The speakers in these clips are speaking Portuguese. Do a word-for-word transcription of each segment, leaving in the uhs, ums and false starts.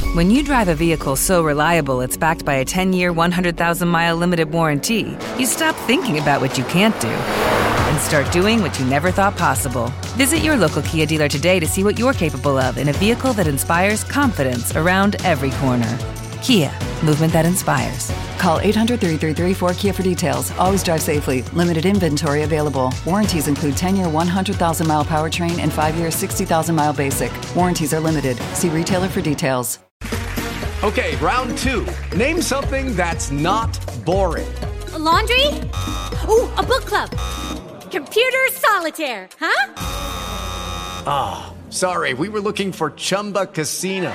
When you drive a vehicle so reliable it's backed by a ten-year, one hundred thousand mile limited warranty, you stop thinking about what you can't do and start doing what you never thought possible. Visit your local Kia dealer today to see what you're capable of in a vehicle that inspires confidence around every corner. Kia, movement that inspires. Call eight hundred, three three three, four K I A for details. Always drive safely. Limited inventory available. Warranties include ten-year, one hundred thousand mile powertrain and five-year, sixty thousand mile basic. Warranties are limited. See retailer for details. Okay, round two. Name something that's not boring. A laundry? Ooh, a book club. Computer solitaire, huh? Ah, oh, sorry. We were looking for Chumba Casino.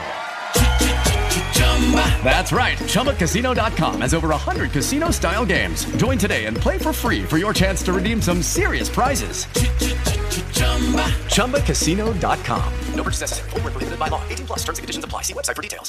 That's right. Chumba Casino dot com has over one hundred casino-style games. Join today and play for free for your chance to redeem some serious prizes. Chumba Casino dot com. No purchase necessary. Void where prohibited by law. eighteen plus. Terms and conditions apply. See website for details.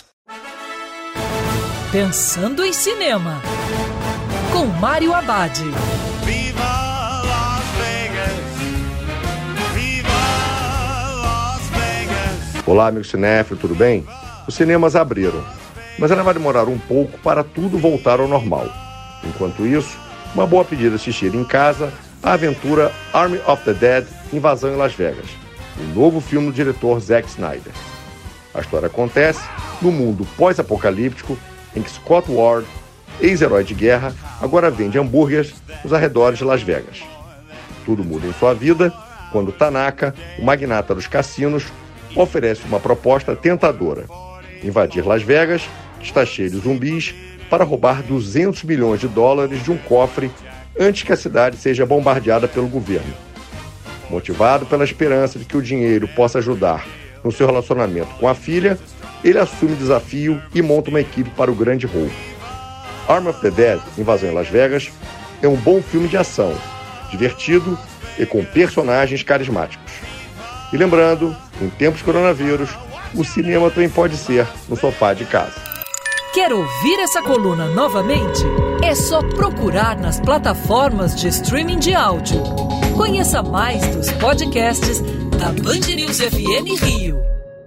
Pensando em Cinema, com Mário Abad. Viva Las Vegas! Viva Las Vegas! Olá, amigo cinéfilo, tudo bem? Os cinemas abriram, mas ainda vai demorar um pouco para tudo voltar ao normal. Enquanto isso, uma boa pedida assistir em casa a aventura Army of the Dead, Invasão em Las Vegas, um novo filme do diretor Zack Snyder. A história acontece no mundo pós-apocalíptico em que Scott Ward, ex-herói de guerra, agora vende hambúrgueres nos arredores de Las Vegas. Tudo muda em sua vida quando Tanaka, o magnata dos cassinos, oferece uma proposta tentadora: invadir Las Vegas, que está cheio de zumbis, para roubar duzentos milhões de dólares de um cofre antes que a cidade seja bombardeada pelo governo. Motivado pela esperança de que o dinheiro possa ajudar no seu relacionamento com a filha, ele assume o desafio e monta uma equipe para o grande roubo. Army of the Dead, Invasão em Las Vegas, é um bom filme de ação, divertido e com personagens carismáticos. E lembrando, em tempos de coronavírus, o cinema também pode ser no sofá de casa. Quer ouvir essa coluna novamente? É só procurar nas plataformas de streaming de áudio. Conheça mais dos podcasts da Band News F M Rio.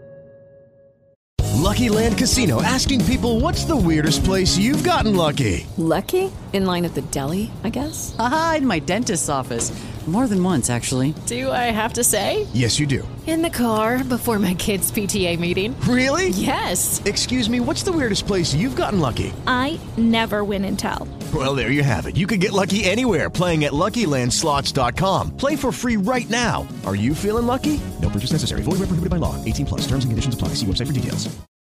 Lucky Land Casino, asking people, what's the weirdest place you've gotten lucky? Lucky? In line at the deli, I guess? Aha, in my dentist's office. More than once, actually. Do I have to say? Yes, you do. In the car before my kids' P T A meeting. Really? Yes. Excuse me, what's the weirdest place you've gotten lucky? I never win and tell. Well, there you have it. You can get lucky anywhere, playing at Lucky Land Slots dot com. Play for free right now. Are you feeling lucky? No purchase necessary. Void where prohibited by law. eighteen plus. Terms and conditions apply. See website for details.